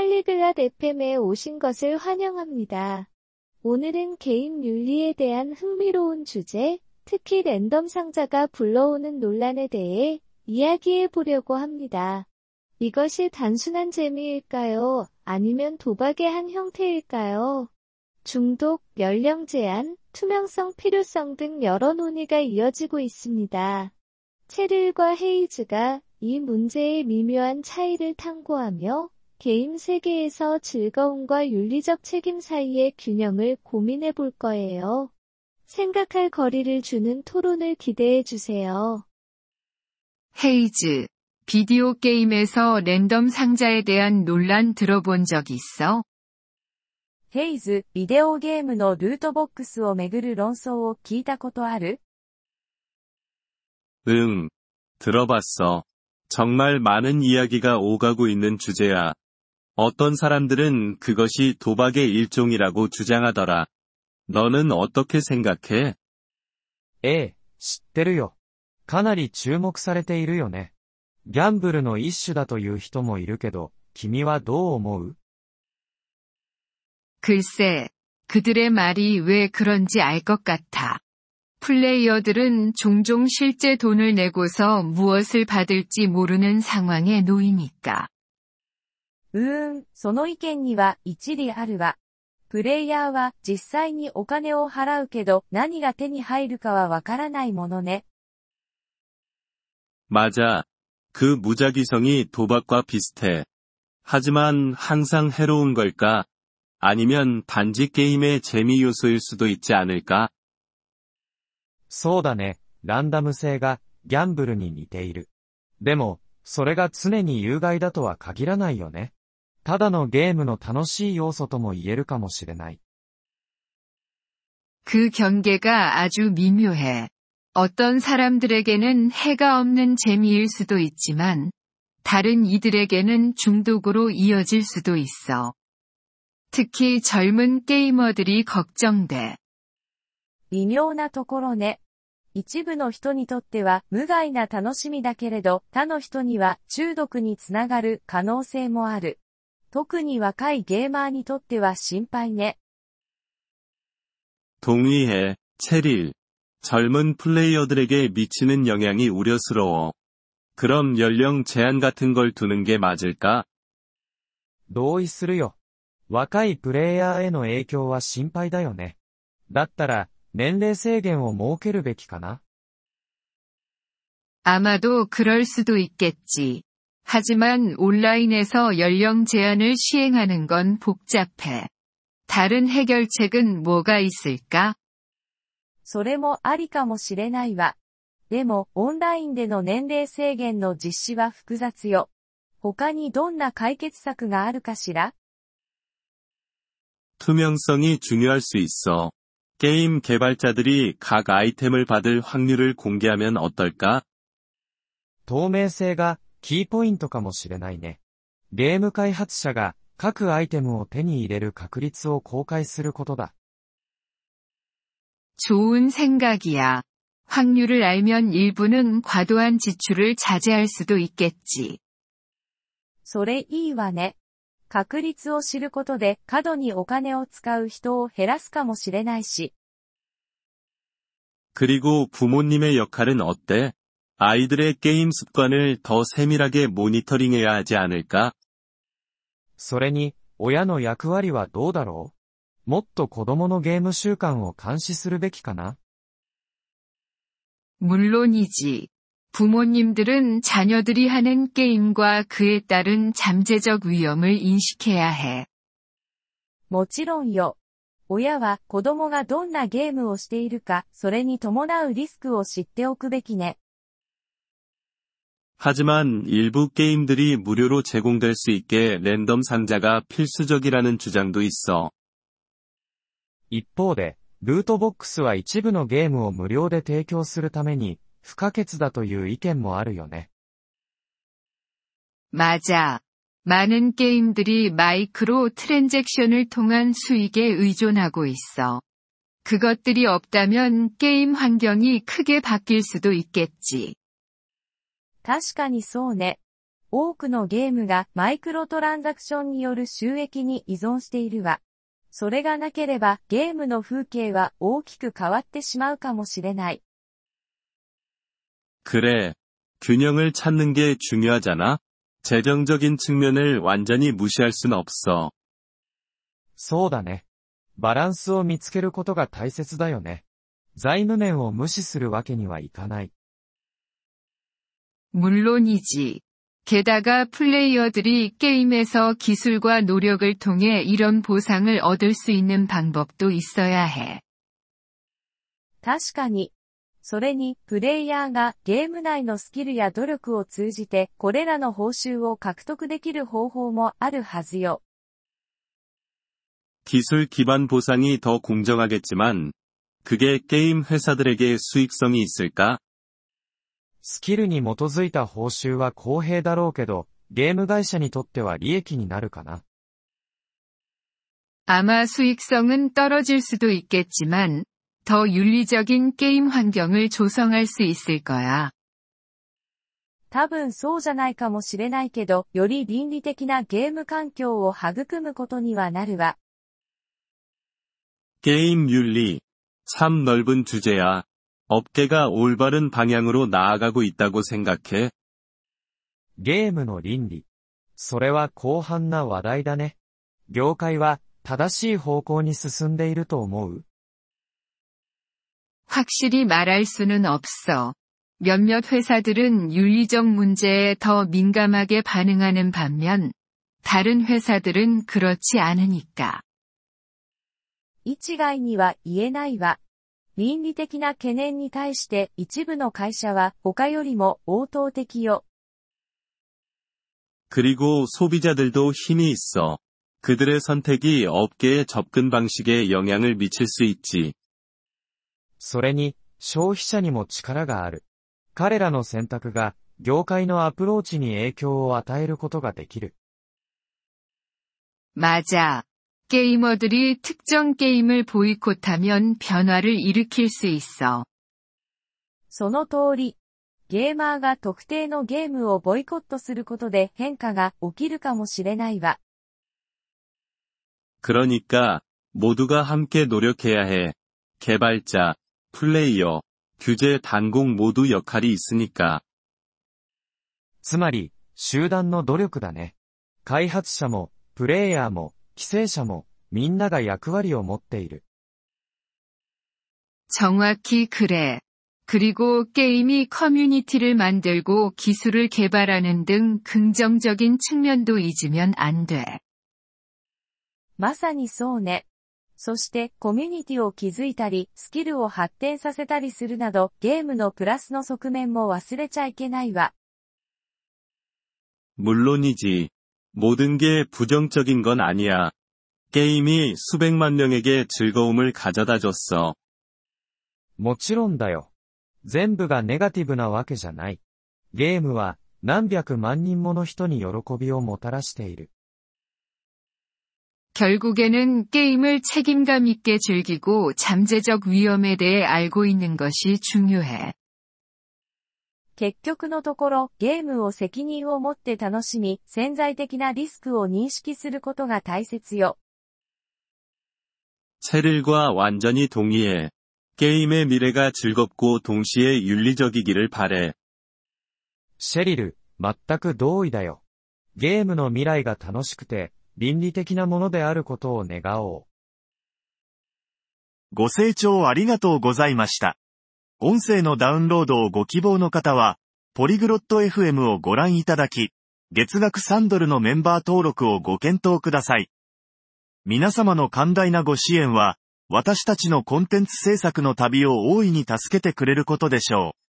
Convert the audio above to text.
팔리글랏 FM에 오신 것을 환영합니다. 오늘은 게임 윤리에 대한 흥미로운 주제, 특히 랜덤 상자가 불러오는 논란에 대해 이야기해 보려고 합니다. 이것이 단순한 재미일까요? 아니면 도박의 한 형태일까요? 중독, 연령 제한, 투명성 필요성 등 여러 논의가 이어지고 있습니다. 체릴과 헤이즈가 이 문제의 미묘한 차이를 탐구하며 게임 세계에서 즐거움과 윤리적 책임 사이의 균형을 고민해 볼 거예요. 생각할 거리를 주는 토론을 기대해 주세요. 헤이즈, 비디오 게임에서 랜덤 상자에 대한 논란 들어본 적 있어? ヘイズ、ビデオゲームのルートボックスをめぐる論争を聞いたことある? 응, 들어봤어. 정말 많은 이야기가 오가고 있는 주제야. 어떤 사람들은 그것이 도박의 일종이라고 주장하더라. 너는 어떻게 생각해? ええ、知ってるよ。かなり注目されているよね。ギャンブルの一種だという人もいるけど、君はどう思う? 글쎄, 그들의 말이 왜 그런지 알 것 같아. 플레이어들은 종종 실제 돈을 내고서 무엇을 받을지 모르는 상황에 놓이니까. その意見には一理あるわ。プレイヤーは実際にお金を払うけど何が手に入るかはわからないものね。 맞아. 그 무작위성이 도박과 비슷해. 하지만 항상 해로운 걸까? 아니면 단지 게임의 재미 요소일 수도 있지 않을까? そうだね、ランダム性がギャンブルに似ている。でも、それが常に有害だとは限らないよね。ただのゲームの楽しい要素とも言えるかもしれない。 그 경계가 아주 미묘해. 어떤 사람들에게는 해가 없는 재미일 수도 있지만, 다른 이들에게는 중독으로 이어질 수도 있어. 특히 젊은 게이머들이 걱정돼. 微妙なところね。一部の人にとっては無害な楽しみだけれど、他の人には中毒につながる可能性もある。特に若いゲーマーにとっては心配ね。 동의해, 체릴. 젊은 플레이어들에게 미치는 영향이 우려스러워. 그럼 연령 제한 같은 걸 두는 게 맞을까? 同意するよ。若いプレイヤーへの影響は心配だよね。だったら、年齢制限を設けるべきかな? 아마도 그럴 수도 있겠지. 하지만 온라인에서 연령 제한을 시행하는 건 복잡해. 다른 해결책은 뭐가 있을까? それもありかもしれないわ。でも、オンラインでの年齢制限の実施は複雑よ。他にどんな解決策があるかしら? 투명성이 중요할 수 있어. 게임 개발자들이 각 아이템을 받을 확률을 공개하면 어떨까? 透明性がキーポイントかもしれないね。ゲーム開発者が各アイテムを手に入れる確率を公開することだ。 좋은 생각이야. 확률을 알면 일부는 과도한 지출을 자제할 수도 있겠지. それいいわね。確率を知ることで過度にお金を使う人を減らすかもしれないし。 그리고 부모님의 역할은 어때? 아이들의 게임 습관을 더 세밀하게 모니터링해야 하지 않을까? それに、親の役割はどうだろう? もっと子供のゲーム習慣を監視するべきかな? 물론이지. 부모님들은 자녀들이 하는 게임과 그에 따른 잠재적 위험을 인식해야 해. もちろんよ。親は子供がどんなゲームをしているか、それに伴うリスクを知っておくべきね。 하지만 일부 게임들이 무료로 제공될 수 있게 랜덤 상자가 필수적이라는 주장도 있어. 一方で、ルートボックスは一部のゲームを無料で提供するために不可欠だという意見もあるよね。 맞아. 많은 게임들이 마이크로 트랜잭션을 통한 수익에 의존하고 있어. 그것들이 없다면 게임 환경이 크게 바뀔 수도 있겠지. 確かにそうね。 多くのゲームがマイクロトランザクションによる収益に依存しているわ。それがなければゲームの風景は大きく変わってしまうかもしれない。 그래. 균형을 찾는 게 중요하잖아. 재정적인 측면을 완전히 무시할 순 없어. そうだね。バランスを見つけることが大切だよね。財務面を無視するわけにはいかない。 물론이지. 게다가 플레이어들이 게임에서 기술과 노력을 통해 이런 보상을 얻을 수 있는 방법도 있어야 해. 確かに。それに、プレイヤーがゲーム内のスキルや努力を通じて、これらの報酬を獲得できる方法もあるはずよ。 기술 기반 보상이 더 공정하겠지만, 그게 게임 회사들에게 수익성이 있을까? スキルに基づいた報酬は公平だろうけど、ゲーム会社にとっては利益になるかな。 아마 수익성은 떨어질 수도 있겠지만, 더 윤리적인 게임 환경을 조성할 수 있을 거야. 多分そうじゃないかもしれないけど、より倫理的なゲーム環境を育むことにはなるわ。 게임 윤리. 참 넓은 주제야. 업계가 올바른 방향으로 나아가고 있다고 생각해? ゲームの倫理。それは広範な話題だね。業界は正しい方向に進んでいると思う？ 확실히 말할 수는 없어. 몇몇 회사들은 윤리적 문제에 더 민감하게 반응하는 반면, 다른 회사들은 그렇지 않으니까. 一概には言えないわ。倫理的な懸念に対して一部の会社は他よりも応答的よ。 그리고 소비자들도 힘이 있어. 그들의 선택이 업계의 접근 방식에 영향을 미칠 수 있지. それに、消費者にも力がある。彼らの選択が、業界のアプローチに影響を与えることができる。 맞아. 게이머들이 특정 게임을 보이콧하면 변화를 일으킬 수 있어. その通り。ゲーマーが特定のゲームをボイコットすることで変化が起きるかもしれないわ。 그러니까 모두가 함께 노력해야 해. 개발자, 플레이어, 규제 단공 모두 역할이 있으니까. つまり、集団の努力だね。開発者も、プレイヤーも、規制者も、みんなが役割を持っている。 정확히 그래. 그리고 게임이 커뮤니티를 만들고 기술을 개발하는 등 긍정적인 측면도 잊으면 안 돼. まさにそうね。そしてコミュニティを築いたり、スキルを発展させたりするなど、ゲームのプラスの側面も忘れちゃいけないわ。 물론이지. 모든 게 부정적인 건 아니야. 게임이 수백만 명에게 즐거움을 가져다 줬어. もちろんだよ。全部がネガティブなわけじゃない。ゲームは何百万人もの人に喜びをもたらしている。 결국에는 게임을 책임감 있게 즐기고 잠재적 위험에 대해 알고 있는 것이 중요해. 結局のところ、ゲームを責任を持って楽しみ、潜在的なリスクを認識することが大切よ。 체릴과 완전히 동의해. 게임의 미래가 즐겁고 동시에 윤리적이기를 바래. シェリル、全く同意だよ。ゲームの未来が楽しくて、倫理的なものであることを願おう。 ご清聴ありがとうございました。音声のダウンロードをご希望の方は、ポリグロット FM をご覧いただき、月額3ドルのメンバー登録をご検討ください。皆様の寛大なご支援は、私たちのコンテンツ制作の旅を大いに助けてくれることでしょう。